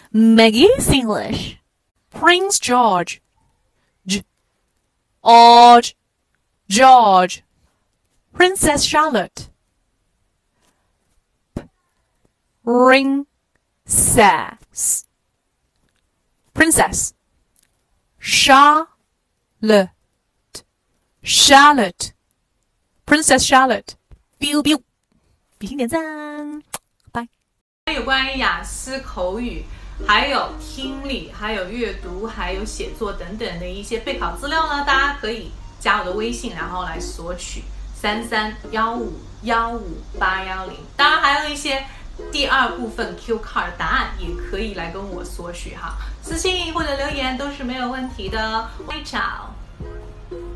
Maggie's English. Prince George. George. Princess Charlotte. Princess. Charlotte. Princess Charlotte. biu biu，比心点赞，拜。 有关于雅思口语，还有听力，还有阅读，还有写作等等的一些备考资料呢，大家可以加我的微信，然后来索取3315158110。当然还有一些第二部分 Q card 答案也可以来跟我索取哈，私信或者留言都是没有问题的。Ciao。